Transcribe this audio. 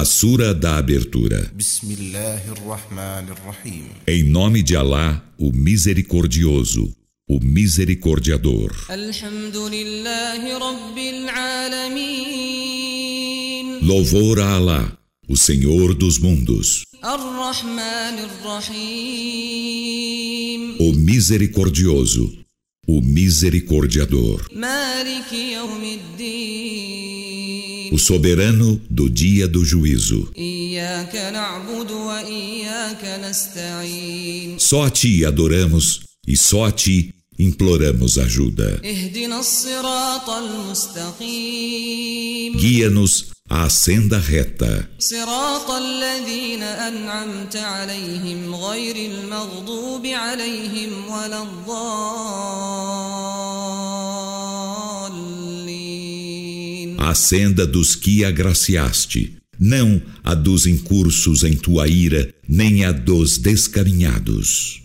A Sura da Abertura. Em nome de Alá, o Misericordioso, o Misericordiador. Louvor a Alá, o Senhor dos mundos, o Misericordioso, o Misericordiador, o soberano do dia do juízo. Só a Ti adoramos e só a Ti imploramos ajuda. Guia-nos à senda reta. A senda dos que agraciaste, não a dos incursos em tua ira, nem a dos descaminhados.